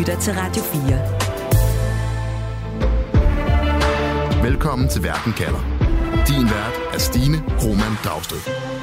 lytter til Radio 4. Velkommen til Verden kalder. Din vært er Stine Krohmann Dragsted.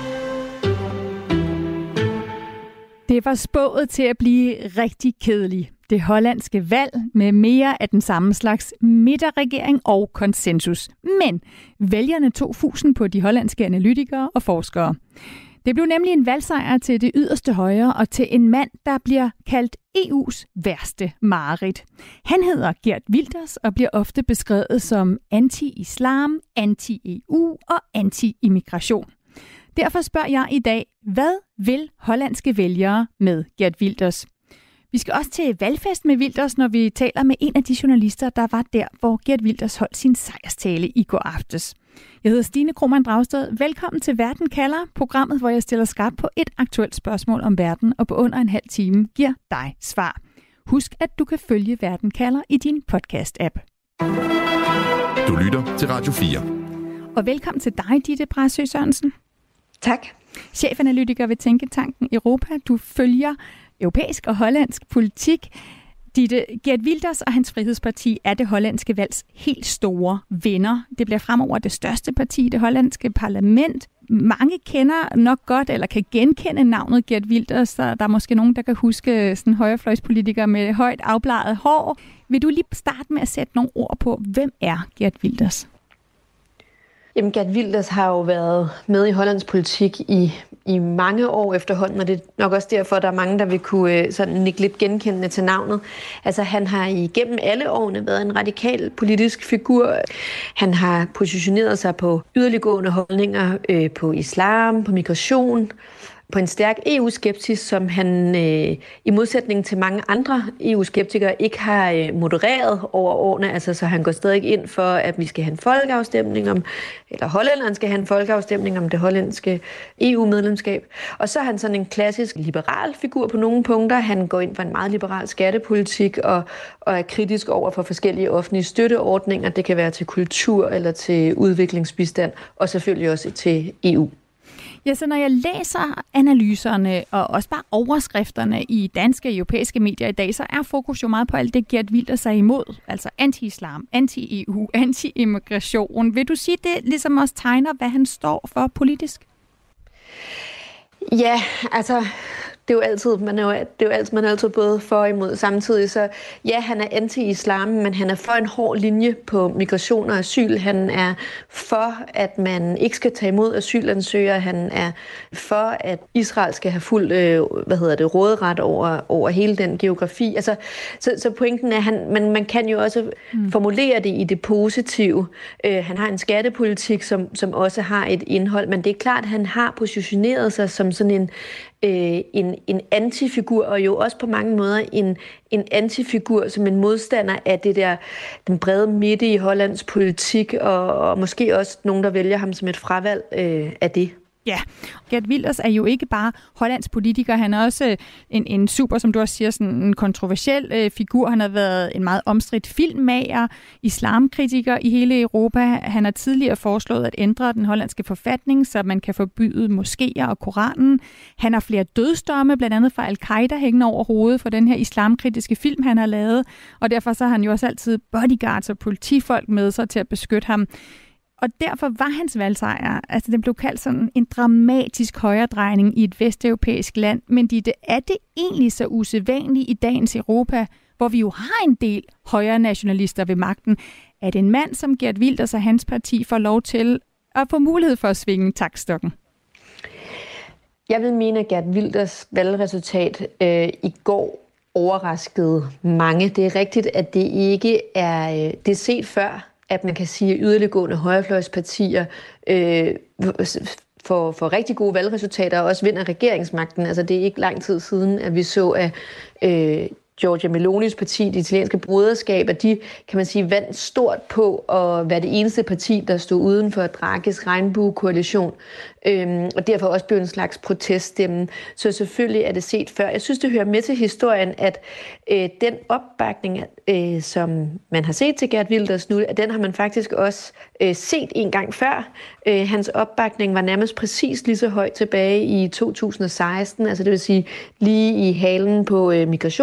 Det var spået til at blive rigtig kedeligt. Det hollandske valg med mere af den samme slags midterregering og konsensus. Men vælgerne tog fusen på de hollandske analytikere og forskere. Det blev nemlig en valgsejr til det yderste højre og til en mand, der bliver kaldt EU's værste mareridt. Han hedder Geert Wilders og bliver ofte beskrevet som anti-islam, anti-EU og anti-immigration. Derfor spørger jeg i dag, hvad vil hollandske vælgere med Geert Wilders? Vi skal også til valgfest med Wilders, når vi taler med en af de journalister, der var der, hvor Geert Wilders holdt sin sejrstale i går aftes. Jeg hedder Stine Krohmann Dragsted. Velkommen til Verden kalder, programmet, hvor jeg stiller skarpt på et aktuelt spørgsmål om verden, og på under en halv time giver dig svar. Husk, at du kan følge Verden kalder i din podcast-app. Du lytter til Radio 4. Og velkommen til dig, Ditte Brasø Sørensen. Tak. Chefanalytiker ved Tænketanken Europa. Du følger europæisk og hollandsk politik. Geert Wilders og hans Frihedsparti er det hollandske valgs helt store vinder. Det bliver fremover det største parti i det hollandske parlament. Mange kender nok godt, eller kan genkende navnet Geert Wilders. Der er måske nogen, der kan huske sådan højrefløjspolitikere med højt afbladet hår. Vil du lige starte med at sætte nogle ord på, hvem er Geert Wilders? Jamen, Geert Wilders har jo været med i hollandsk politik i mange år efterhånden, og det er nok også derfor, at der er mange, der vil kunne sådan nikke lidt genkendende til navnet. Altså, han har igennem alle årene været en radikal politisk figur. Han har positioneret sig på yderliggående holdninger på islam, på migration, på en stærk EU-skepsis, som han i modsætning til mange andre EU-skeptikere ikke har modereret over årene. Altså, så han går stadig ind for, at vi skal have en folkeafstemning om, eller hollænderne skal have en folkeafstemning om det hollandske EU-medlemskab. Og så er han sådan en klassisk liberal figur på nogle punkter. Han går ind for en meget liberal skattepolitik og er kritisk over for forskellige offentlige støtteordninger. Det kan være til kultur eller til udviklingsbistand, og selvfølgelig også til EU. Ja, så når jeg læser analyserne og også bare overskrifterne i danske og europæiske medier i dag, så er fokus jo meget på alt det, Geert Wilders er imod. Altså anti-islam, anti-EU, anti-immigration. Vil du sige, det ligesom også tegner, hvad han står for politisk? Ja, altså det er jo altid, man er altid både for og imod samtidig. Så ja, han er anti-islam, men han er for en hård linje på migration og asyl. Han er for, at man ikke skal tage imod asylansøgere. Han er for, at Israel skal have fuld råderet over hele den geografi. Altså, så pointen er, man kan jo også formulere det i det positive. Han har en skattepolitik, som også har et indhold, men det er klart, at han har positioneret sig som sådan en antifigur, og jo også på mange måder en antifigur som en modstander af den brede midte i Hollands politik, og måske også nogen, der vælger ham som et fravalg af det. Ja, Geert Wilders er jo ikke bare hollands politiker, han er også en super, som du også siger, sådan en kontroversiel figur. Han har været en meget omstridt filmmager, islamkritiker i hele Europa. Han har tidligere foreslået at ændre den hollandske forfatning, så man kan forbyde moskéer og Koranen. Han har flere dødsdomme, blandt andet fra Al-Qaida, hængende over hovedet for den her islamkritiske film, han har lavet. Og derfor så har han jo også altid bodyguards og politifolk med sig til at beskytte ham. Og derfor var hans valgsejr, altså den blev kaldt sådan en dramatisk højredrejning i et vesteuropæisk land. Men er det egentlig så usædvanligt i dagens Europa, hvor vi jo har en del højre nationalister ved magten, at en mand som Geert Wilders og hans parti får lov til at få mulighed for at svinge taktstokken? Jeg vil mene, at Geert Wilders valgresultat i går overraskede mange. Det er rigtigt, at det ikke er det set før, at man kan sige, at yderliggående højrefløjspartier får rigtig gode valgresultater og også vinder regeringsmagten. Altså, det er ikke lang tid siden, at vi så, at Giorgia Melonis parti, det italienske broderskab, at de, kan man sige, vandt stort på at være det eneste parti, der stod uden for Draghis regnbuekoalition, og derfor også blev en slags proteststemme. Så selvfølgelig er det set før. Jeg synes, det hører med til historien, at den opbakning, som man har set til Geert Wilders nu, at den har man faktisk også set en gang før. Hans opbakning var nærmest præcis lige så høj tilbage i 2016, altså det vil sige lige i halen på migrationskrisen,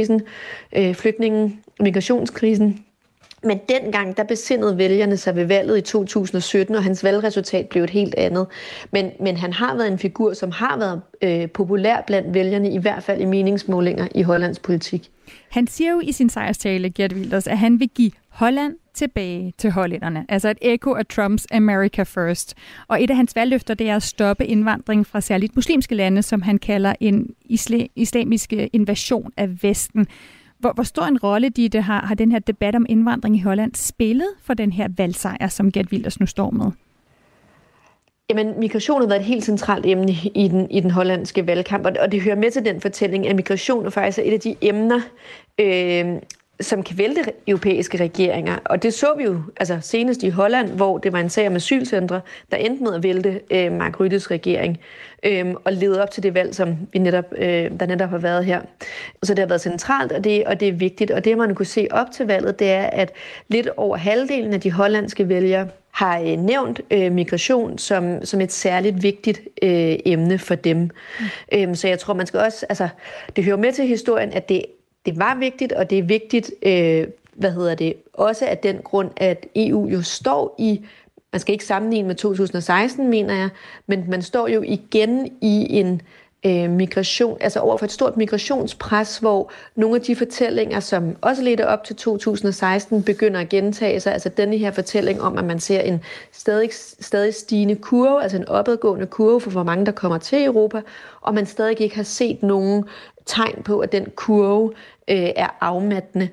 krisen, migrationskrisen. Men dengang, der besindede vælgerne sig ved valget i 2017, og hans valgresultat blev et helt andet. Men han har været en figur, som har været populær blandt vælgerne, i hvert fald i meningsmålinger i Hollands politik. Han siger jo i sin sejrstale, Geert Wilders, at han vil give Holland tilbage til hollænderne. Altså et ekko af Trumps America First. Og et af hans valgløfter, det er at stoppe indvandring fra særligt muslimske lande, som han kalder en islamisk invasion af Vesten. Hvor stor en rolle har den her debat om indvandring i Holland spillet for den her valgsejr, som Geert Wilders nu står med? Jamen, migration har været et helt centralt emne i den hollandske valgkamp, og det hører med til den fortælling, at migration er faktisk et af de emner, som kan vælte europæiske regeringer. Og det så vi jo senest i Holland, hvor det var en sag om asylcentre, der endte med at vælte Mark Rüttes regering og lede op til det valg, som der netop har været her. Så det har været centralt, og det er vigtigt. Og det, man kunne se op til valget, det er, at lidt over halvdelen af de hollandske vælgere har nævnt migration som et særligt vigtigt emne for dem. Så jeg tror, man skal også... det hører med til historien, at det var vigtigt, og det er vigtigt, også af den grund, at EU jo står i, man skal ikke sammenligne med 2016, mener jeg, men man står jo igen i en migration, over for et stort migrationspres, hvor nogle af de fortællinger, som også ledte op til 2016, begynder at gentage sig. Altså denne her fortælling om, at man ser en stadig stigende kurve, altså en opadgående kurve for, hvor mange der kommer til Europa, og man stadig ikke har set nogen tegn på, at den kurve er afmattende.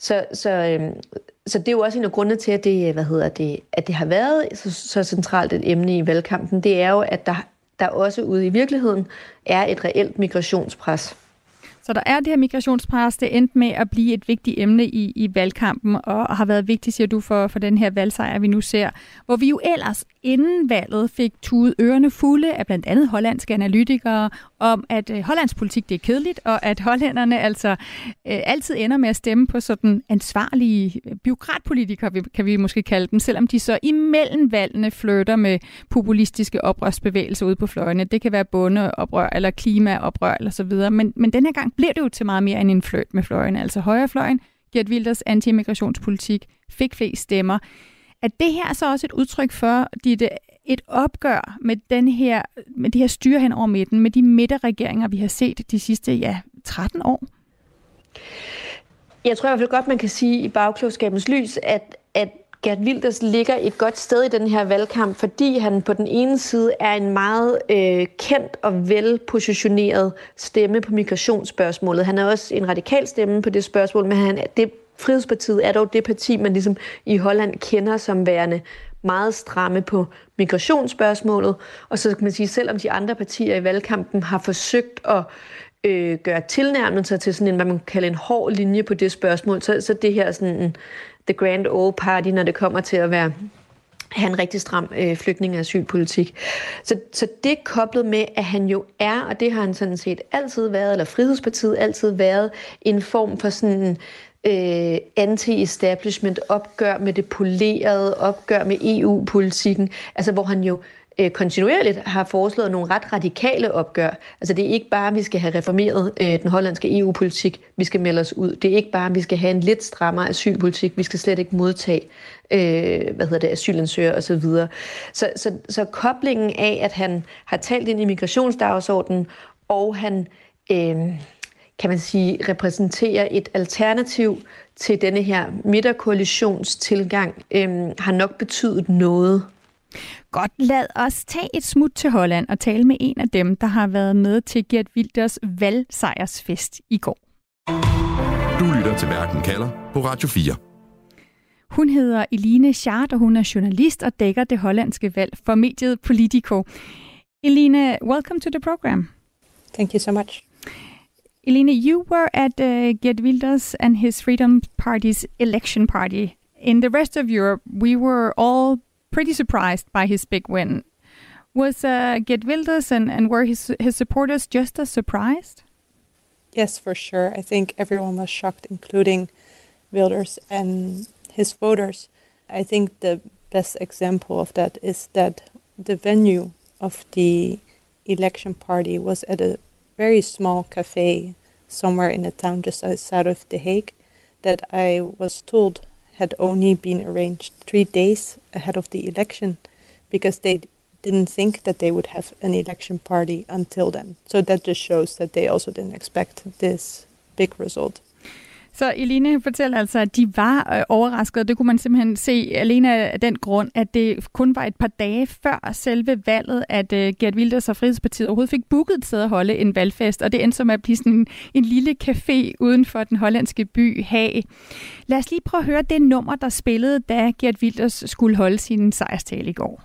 Så det er jo også en af grundene til, at det har været så centralt et emne i valgkampen. Det er jo, at der også ude i virkeligheden er et reelt migrationspres. Så der er det her migrationspres, det endte med at blive et vigtigt emne i valgkampen, og har været vigtigt, siger du, for den her valgsejr, vi nu ser. Hvor vi jo ellers inden valget fik tudet ørerne fulde af blandt andet hollandske analytikere om, at Hollands politik det er kedeligt, og at hollænderne altid ender med at stemme på sådan ansvarlige bureaukratpolitikere, kan vi måske kalde dem, selvom de så imellem valgene flytter med populistiske oprørsbevægelser ude på fløjene. Det kan være bondeoprør eller klimaoprør eller så videre, men den her gang bliver det jo til meget mere end en flirt med fløjene. Altså højrefløjen, Geert Wilders anti-immigrationspolitik, fik flest stemmer. Er det her så også et udtryk for et opgør med det her styre hen over midten, med de midterregeringer, vi har set de sidste 13 år? Jeg tror i hvert fald godt, man kan sige i bagklogskabens lys, at Geert Wilders ligger et godt sted i den her valgkamp, fordi han på den ene side er en meget kendt og velpositioneret stemme på migrationsspørgsmålet. Han er også en radikal stemme på det spørgsmål, men Frihedspartiet er dog det parti, man ligesom i Holland kender som værende meget stramme på migrationsspørgsmålet. Og så kan man sige, selvom de andre partier i valgkampen har forsøgt at gøre tilnærmelser til sådan en, hvad man kan kalde en hård linje på det spørgsmål, så det her sådan en the grand old party, når det kommer til at have en rigtig stram flygtninge- og asylpolitik. Så det koblet med, at han jo er, og det har han sådan set altid været, eller Frihedspartiet altid været, en form for sådan anti-establishment, opgør med det polerede, opgør med EU-politikken, altså hvor han jo kontinuerligt har foreslået nogle ret radikale opgør. Altså det er ikke bare, at vi skal have reformeret den hollandske EU-politik, vi skal melde os ud. Det er ikke bare, at vi skal have en lidt strammere asylpolitik, vi skal slet ikke modtage asylansøgere osv. Så koblingen af, at han har talt ind i migrationsdagsordenen, og han kan man sige, repræsenterer et alternativ til denne her midterkoalitionstilgang, har nok betydet noget. Godt, lad os tage et smut til Holland og tale med en af dem, der har været med til Geert Wilders valgsejrsfest i går. Du lytter til Verden kalder på Radio 4. Hun hedder Eline Schaart, og hun er journalist og dækker det hollandske valg for mediet Politico. Eline, welcome to the program. Thank you so much. Eline, you were at Geert Wilders and his Freedom Party's election party. In the rest of Europe, we were all pretty surprised by his big win. Was Geert Wilders and were his supporters just as surprised? Yes, for sure. I think everyone was shocked, including Wilders and his voters. I think the best example of that is that the venue of the election party was at a very small cafe somewhere in a town just outside of The Hague that I was told had only been arranged 3 days ahead of the election because they didn't think that they would have an election party until then. So that just shows that they also didn't expect this big result. Så Eline fortæller altså, at de var overraskede, og det kunne man simpelthen se alene af den grund, at det kun var et par dage før selve valget, at Geert Wilders og Frihedspartiet overhovedet fik booket et sted at holde en valgfest, og det endte som at blive sådan en lille café uden for den hollandske by Haag. Lad os lige prøve at høre det nummer, der spillede, da Geert Wilders skulle holde sin sejrstale i går.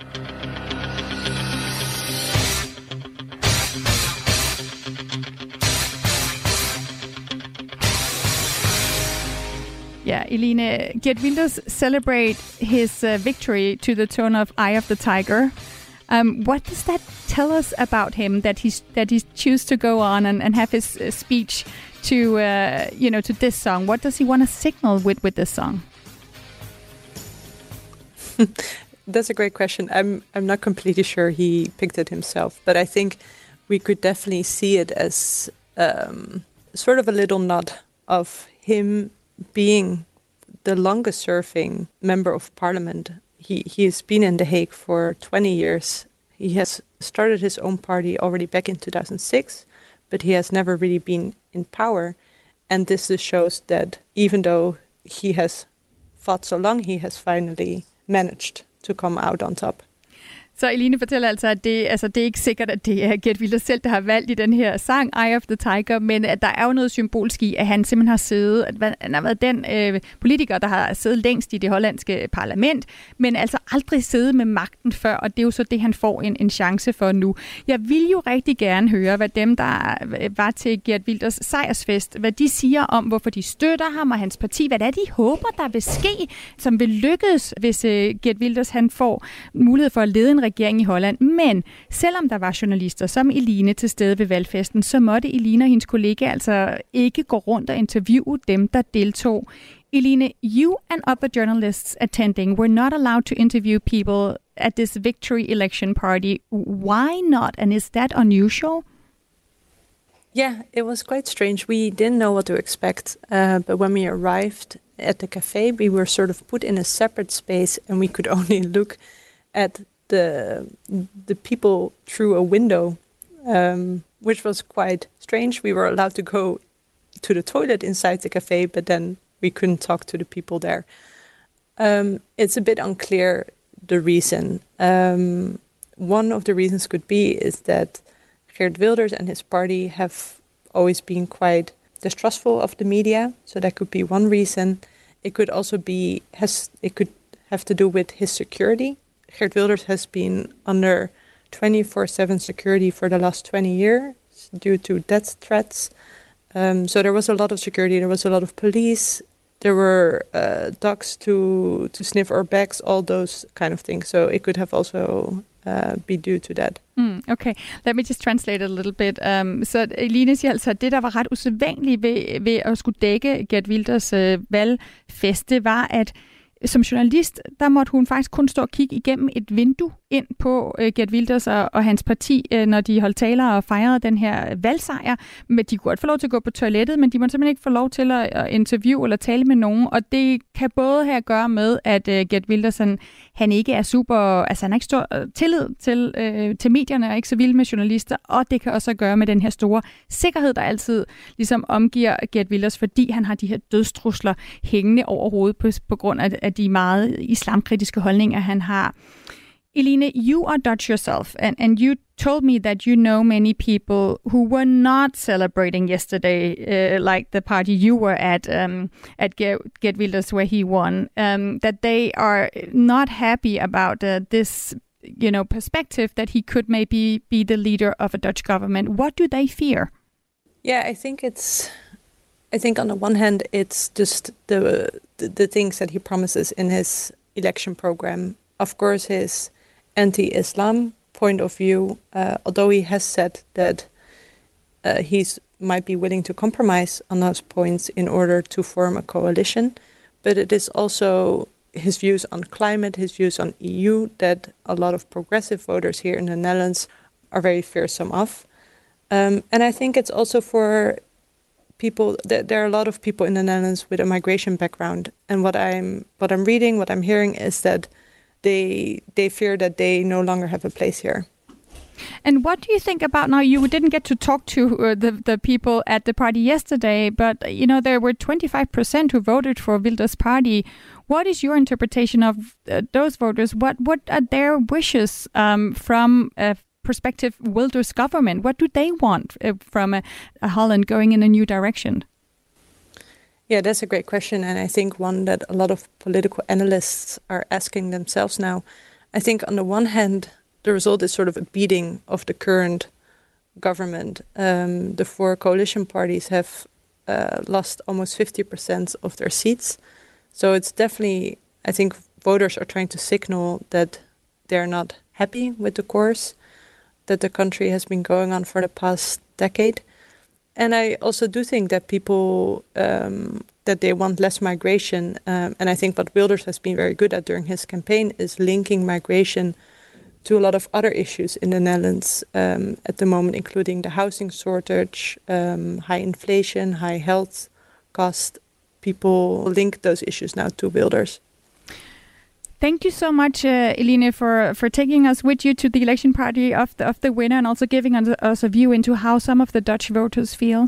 Yeah, Eline, Geert Wilders celebrate his victory to the tune of "Eye of the Tiger." What does that tell us about him that he choose to go on and have his speech to to this song? What does he want to signal with this song? That's a great question. I'm not completely sure he picked it himself, but I think we could definitely see it as sort of a little nod of him being the longest serving member of parliament. He has been in The Hague for 20 years. He has started his own party already back in 2006, but he has never really been in power. And this just shows that even though he has fought so long, he has finally managed to come out on top. Så Eline fortæller altså, at det er ikke sikkert, at det er Geert Wilders selv, der har valgt i den her sang, Eye of the Tiger, men at der er jo noget symbolsk i, at han simpelthen har siddet, at han har været den politiker, der har siddet længst i det hollandske parlament, men altså aldrig siddet med magten før, og det er jo så det, han får en chance for nu. Jeg vil jo rigtig gerne høre, hvad dem, der var til Geert Wilders sejrsfest, hvad de siger om, hvorfor de støtter ham og hans parti, hvad det er, de håber, der vil ske, som vil lykkes, hvis Geert Wilders han får mulighed for at lede en regering i Holland. Men selvom der var journalister som Eline til stede ved valgfesten, så måtte Eline og hendes kollega altså ikke gå rundt og interviewe dem, der deltog. Eline, you and other journalists attending were not allowed to interview people at this victory election party. Why not? And is that unusual? Yeah, it was quite strange. We didn't know what to expect, but when we arrived at the cafe, we were sort of put in a separate space and we could only look at the people through a window, which was quite strange. We were allowed to go to the toilet inside the cafe, but then we couldn't talk to the people there. It's a bit unclear the reason. One of the reasons could be is that Geert Wilders and his party have always been quite distrustful of the media, so that could be one reason. It could also be it could have to do with his security. Geert Wilders has been under 24/7 security for the last 20 years due to death threats. So there was a lot of security. There was a lot of police. There were dogs to sniff our bags, all those kind of things. So it could have also be due to that. Okay, let me just translate a little bit. Så Eline siger altså, at det, der var ret usædvanligt ved at skulle dække Geert Wilders valgfest, det var, at som journalist, der måtte hun faktisk kun stå og kigge igennem et vindue ind på Geert Wilders og hans parti, når de holdt taler og fejrede den her valgsejr. Men de kunne godt få lov til at gå på toilettet, men de måtte simpelthen ikke få lov til at interviewe eller tale med nogen. Og det kan både have at gøre med, at Geert Wilders han ikke er super, altså han har ikke stor tillid til medierne og ikke så vild med journalister. Og det kan også at gøre med den her store sikkerhed, der altid ligesom omgiver Geert Wilders, fordi han har de her dødstrusler hængende over hovedet på grund af de meget islamkritiske holdninger, han har. Eline, you are Dutch yourself, and you told me that you know many people who were not celebrating yesterday, like the party you were at Geert Wilders, where he won, that they are not happy about this, perspective that he could maybe be the leader of a Dutch government. What do they fear? Yeah, I think on the one hand, it's just the things that he promises in his election program. Of course, his anti-Islam point of view, although he has said that he might be willing to compromise on those points in order to form a coalition, but it is also his views on climate, his views on EU, that a lot of progressive voters here in the Netherlands are very fearsome of. And I think it's also for people. There are a lot of people in the Netherlands with a migration background, and what I'm reading, what I'm hearing is that they fear that they no longer have a place here. And what do you think about now? You didn't get to talk to the people at the party yesterday, but there were 25% who voted for Wilders' party. What is your interpretation of those voters? What are their wishes from a prospective Wilders government? What do they want from a Holland going in a new direction? Yeah, that's a great question, and I think one that a lot of political analysts are asking themselves now. I think on the one hand, the result is sort of a beating of the current government. The 4 coalition parties have lost almost 50% of their seats. So it's definitely, I think voters are trying to signal that they're not happy with the course that the country has been going on for the past decade. And I also do think that people, that they want less migration. And I think what Wilders has been very good at during his campaign is linking migration to a lot of other issues in the Netherlands at the moment, including the housing shortage, high inflation, high health cost. People link those issues now to Wilders. Thank you so much, Eline, for taking us with you to the election party of the winner, and also giving us a view into how some of the Dutch voters feel.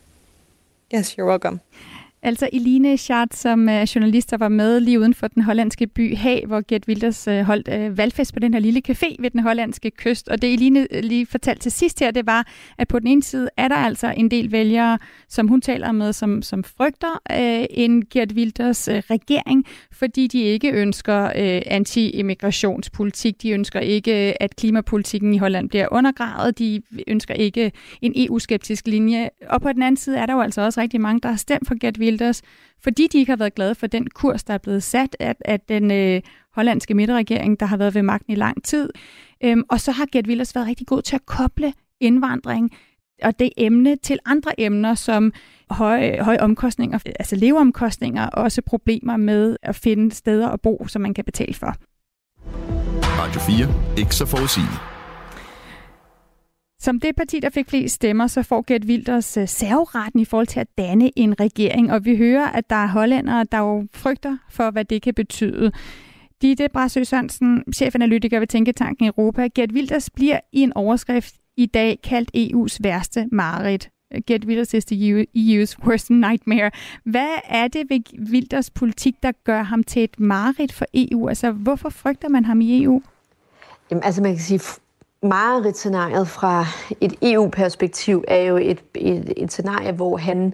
Yes, you're welcome. Altså Eline Schatz, som journalist, der var med lige uden for den hollandske by Haag, hvor Geert Wilders holdt valgfest på den her lille café ved den hollandske kyst. Og det Eline lige fortalte til sidst her, det var, at på den ene side er der altså en del vælgere, som hun taler med, som frygter en Geert Wilders regering, fordi de ikke ønsker anti-immigrationspolitik. De ønsker ikke, at klimapolitikken i Holland bliver undergravet. De ønsker ikke en EU-skeptisk linje. Og på den anden side er der jo altså også rigtig mange, der har stemt for Geert Wilders, fordi de ikke har været glade for den kurs, der er blevet sat af den hollandske midterregering, der har været ved magten i lang tid. Og så har Geert Wilders været rigtig god til at koble indvandring og det emne til andre emner, som høje omkostninger, altså leveomkostninger, og også problemer med at finde steder at bo, som man kan betale for. Radio 4. Ikke så forudsigeligt. Som det parti, der fik flest stemmer, så får Geert Wilders serveretten i forhold til at danne en regering. Og vi hører, at der er hollændere, der jo frygter for, hvad det kan betyde. Ditte Brasø Sørensen, chefanalytiker ved Tænketanken Europa. Geert Wilders bliver i en overskrift i dag kaldt EU's værste mareridt. Geert Wilders is the EU's worst nightmare. Hvad er det ved Wilders politik, der gør ham til et mareridt for EU? Altså, hvorfor frygter man ham i EU? Jamen, altså man kan sige, mareridtscenariet fra et EU-perspektiv er jo et scenarie, hvor han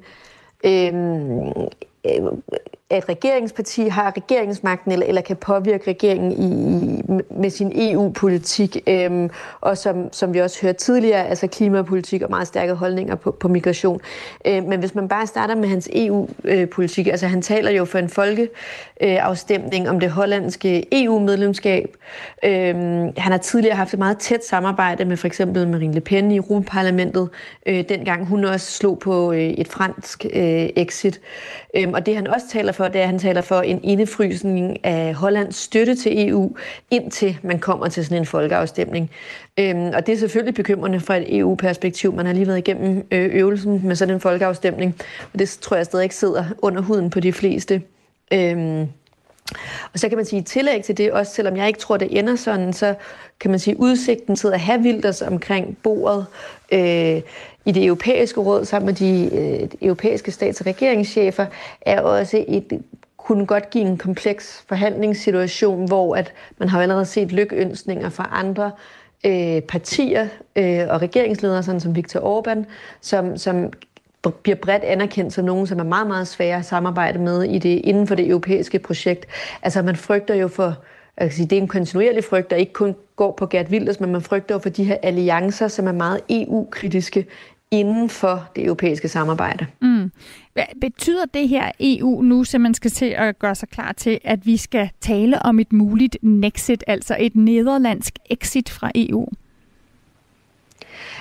et regeringsparti har regeringsmagten eller kan påvirke regeringen med sin EU-politik, og som vi også hørte tidligere, altså klimapolitik og meget stærke holdninger på migration. Men hvis man bare starter med hans EU-politik, altså han taler jo for en folkeafstemning om det hollandske EU-medlemskab. Han har tidligere haft et meget tæt samarbejde med for eksempel Marine Le Pen i Europaparlamentet, dengang hun også slog på et fransk exit. Og det han også taler for, det er, at han taler for en indefrysning af Hollands støtte til EU, indtil man kommer til sådan en folkeafstemning. Og det er selvfølgelig bekymrende fra et EU-perspektiv. Man har lige været igennem øvelsen med sådan en folkeafstemning, og det tror jeg stadig ikke sidder under huden på de fleste. Og så kan man sige, i tillæg til det, også selvom jeg ikke tror, det ender sådan, så kan man sige, udsigten til at have Wilders omkring bordet i det europæiske råd sammen med de europæiske stats- og regeringschefer, er også kunne godt give en kompleks forhandlingssituation, hvor at man har allerede set lykønskninger fra andre partier og regeringsledere, sådan som Viktor Orbán, som bliver bredt anerkendt som nogen, som er meget, meget svære at samarbejde med inden for det europæiske projekt. Altså man frygter jo for, jeg kan sige, det er en kontinuerlig frygt, der ikke kun går på Geert Wilders, men man frygter jo for de her alliancer, som er meget EU-kritiske inden for det europæiske samarbejde. Hvad betyder det her EU nu, så man skal til at gøre sig klar til, at vi skal tale om et muligt Nexit, altså et nederlandsk exit fra EU?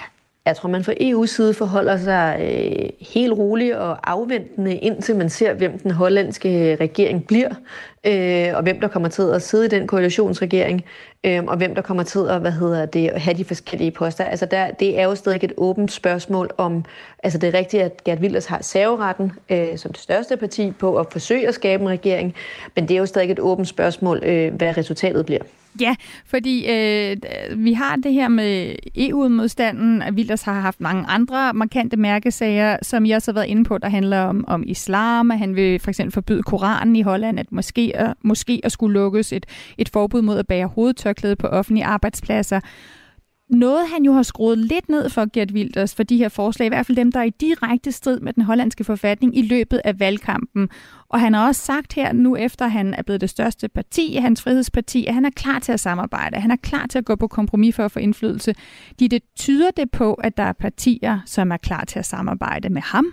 Jeg tror, man fra EU's side forholder sig helt roligt og afventende, indtil man ser, hvem den hollandske regering bliver, og hvem der kommer til at sidde i den koalitionsregering, og hvem der kommer til at have de forskellige poster. Altså det er jo stadig et åbent spørgsmål om, altså det er rigtigt, at Geert Wilders har serveretten som det største parti på at forsøge at skabe en regering, men det er jo stadig et åbent spørgsmål, hvad resultatet bliver. Ja, fordi vi har det her med EU-modstanden, at Wilders har haft mange andre markante mærkesager, som I også har været inde på, der handler om islam, at han vil for eksempel forbyde Koranen i Holland, at måske at skulle lukkes et forbud mod at bære hovedtørklæde på offentlige arbejdspladser. Noget han jo har skruet lidt ned for Geert Wilders for de her forslag, i hvert fald dem, der er i direkte strid med den hollandske forfatning i løbet af valgkampen. Og han har også sagt her nu, efter han er blevet det største parti, hans frihedsparti, at han er klar til at samarbejde. Han er klar til at gå på kompromis for at få indflydelse. Det tyder det på, at der er partier, som er klar til at samarbejde med ham?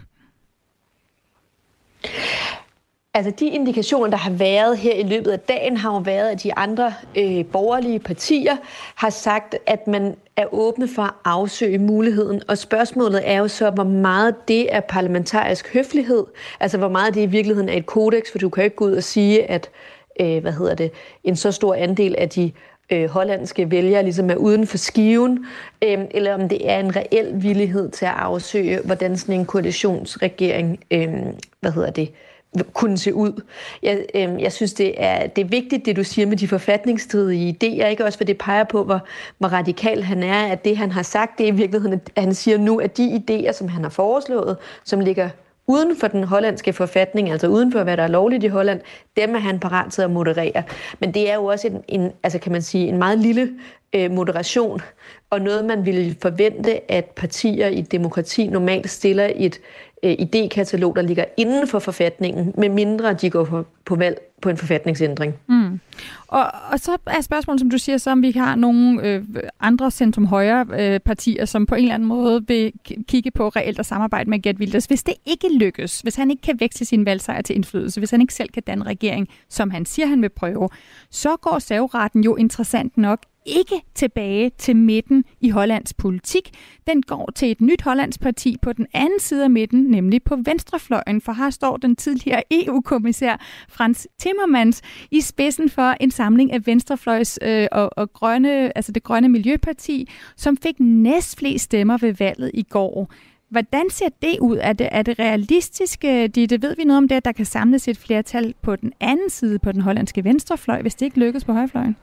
Altså de indikationer, der har været her i løbet af dagen, har jo været, at de andre borgerlige partier har sagt, at man er åbne for at afsøge muligheden. Og spørgsmålet er jo så, hvor meget det er parlamentarisk høflighed, altså hvor meget det i virkeligheden er et kodeks, for du kan jo ikke gå ud og sige, at en så stor andel af de hollandske vælgere ligesom er uden for skiven, eller om det er en reel villighed til at afsøge, hvordan sådan en koalitionsregering, kunne se ud. Jeg synes, det er vigtigt, det du siger med de forfatningsstridige idéer, ikke også, for det peger på, hvor radikal han er, at det, han har sagt, det er i virkeligheden, at han siger nu, at de idéer, som han har foreslået, som ligger uden for den hollandske forfatning, altså uden for, hvad der er lovligt i Holland, dem er han parat til at moderere. Men det er jo også en meget lille moderation, og noget, man ville forvente, at partier i demokrati normalt stiller et idékatalog, der ligger inden for forfatningen, med mindre de går på valg på en forfatningsændring. Mm. Og så er spørgsmålet, som du siger, så om vi har nogle andre centrum-højre partier, som på en eller anden måde vil kigge på reelt at samarbejde med Geert Wilders. Hvis det ikke lykkes, hvis han ikke kan veksle sin valgsejr til indflydelse, hvis han ikke selv kan danne regering, som han siger, han vil prøve, så går serveretten jo interessant nok ikke tilbage til midten i Hollands politik. Den går til et nyt hollandsk parti på den anden side af midten, nemlig på venstrefløjen, for her står den tidligere EU-kommissær Frans Timmermans i spidsen for en samling af venstrefløjs og grønne, altså det grønne miljøparti, som fik næstflest stemmer ved valget i går. Hvordan ser det ud? Er det realistisk? Det ved vi noget om det, at der kan samles et flertal på den anden side, på den hollandske venstrefløj, hvis det ikke lykkes på højrefløjen?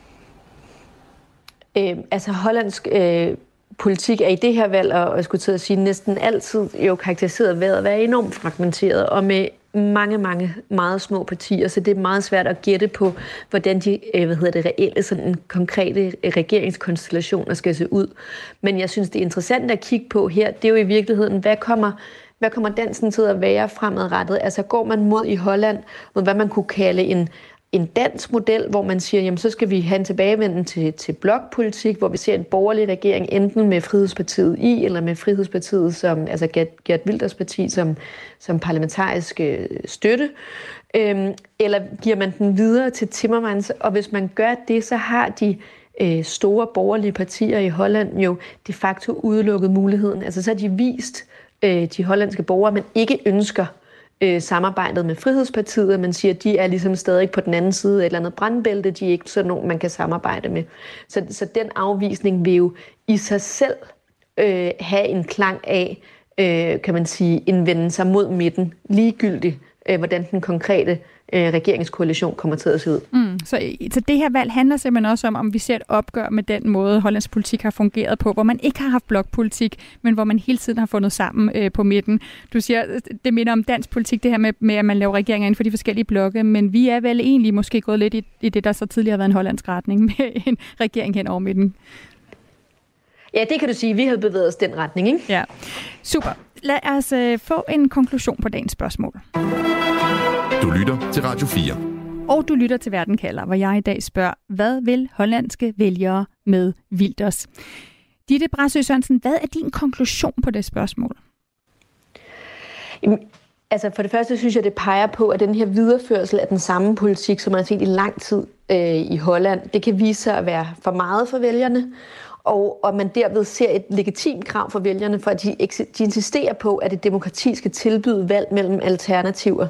Hollandsk politik er i det her valg, og jeg skulle til at sige, næsten altid jo karakteriseret ved at være enormt fragmenteret, og med mange meget små partier, så det er meget svært at gætte på, hvordan de reelle, sådan konkrete regeringskonstellationer skal se ud. Men jeg synes, det er interessant at kigge på her, det er jo i virkeligheden, hvad kommer dansen til at være fremadrettet? Altså går man mod i Holland, mod hvad man kunne kalde en dansk model, hvor man siger, jamen så skal vi have en tilbagevenden til blokpolitik, hvor vi ser en borgerlig regering enten med Frihedspartiet eller med Frihedspartiet som, altså Geert Wilders parti som parlamentarisk støtte, eller giver man den videre til Timmermans, og hvis man gør det, så har de store borgerlige partier i Holland jo de facto udelukket muligheden. Altså så har de vist de hollandske borgere, man ikke ønsker samarbejdet med Frihedspartiet, man siger, at de er ligesom stadig på den anden side af et eller andet brandbælte, de er ikke sådan nogen, man kan samarbejde med. Så den afvisning vil jo i sig selv have en klang af, kan man sige, indvende sig mod midten, ligegyldigt, hvordan den konkrete regeringskoalition kommer til at se ud. Så det her valg handler simpelthen også om vi ser et opgør med den måde, Hollands politik har fungeret på, hvor man ikke har haft blokpolitik, men hvor man hele tiden har fundet sammen på midten. Du siger, det minder om dansk politik, det her med at man laver regeringer inden for de forskellige blokke, men vi er vel egentlig måske gået lidt i det, der så tidligere har været en hollandsk retning med en regering hen over midten. Ja, det kan du sige. Vi har bevæget os den retning, ikke? Ja, super. Lad os få en konklusion på dagens spørgsmål. Du lytter til Radio 4. Og du lytter til Verden kalder, hvor jeg i dag spørger, hvad vil hollandske vælgere med Wilders? Ditte Brasøe Sørensen, hvad er din konklusion på det spørgsmål? Jamen, altså for det første synes jeg, det peger på, at den her videreførsel af den samme politik, som man har set i lang tid i Holland, det kan vise sig at være for meget for vælgerne. og man derved ser et legitimt krav for vælgerne, for at de insisterer på, at det demokrati skal tilbyde valg mellem alternativer.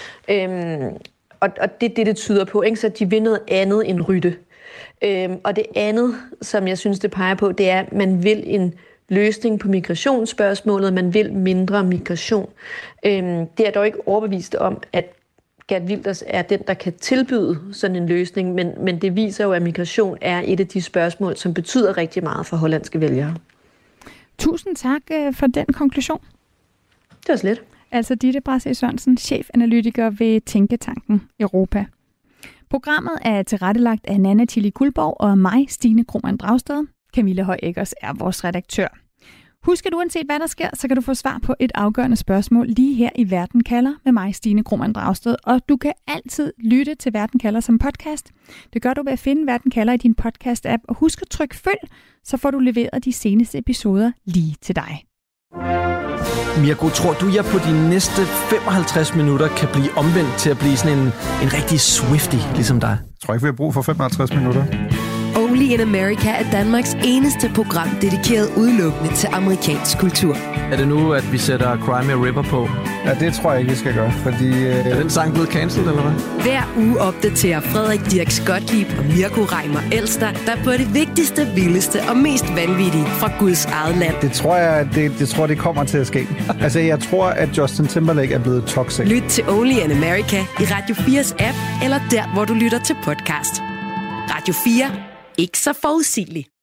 Og det er det tyder på, ikke? Så de vil noget andet end Rytte. Og det andet, som jeg synes, det peger på, det er, at man vil en løsning på migrationsspørgsmålet, man vil mindre migration. Det er dog ikke overbevist om, at Geert Wilders er den, der kan tilbyde sådan en løsning, men det viser jo, at migration er et af de spørgsmål, som betyder rigtig meget for hollandske vælgere. Tusind tak for den konklusion. Det var slet. Altså Ditte Brassé Sørensen, chefanalytiker ved Tænketanken Europa. Programmet er tilrettelagt af Nanna Tilly Guldborg og mig, Stine Krohmann Dragsted. Camilla Høj Eggers er vores redaktør. Husk, at uanset hvad der sker, så kan du få svar på et afgørende spørgsmål lige her i Verden kalder med mig, Stine Krohmann Dragsted. Og du kan altid lytte til Verden kalder som podcast. Det gør du ved at finde Verden kalder i din podcast-app. Og husk at trykke følg, så får du leveret de seneste episoder lige til dig. Mirko, tror du, jeg på de næste 55 minutter kan blive omvendt til at blive sådan en rigtig Swiftie, ligesom dig? Jeg tror ikke, vi har brug for 55 minutter. Only in America er Danmarks eneste program dedikeret udelukkende til amerikansk kultur. Er det nu, at vi sætter Cry Me a River på? Ja, det tror jeg ikke, vi skal gøre, fordi... Er den sang blevet cancelled, eller hvad? Hver uge opdaterer Frederik Dirks Gottlieb og Mirko Reimer Elster, der på det vigtigste, vildeste og mest vanvittige fra Guds eget land. Det tror jeg, det kommer til at ske. Altså, jeg tror, at Justin Timberlake er blevet toxic. Lyt til Only in America i Radio 4's app, eller der, hvor du lytter til podcast. Radio 4. Ikke så forudsigeligt.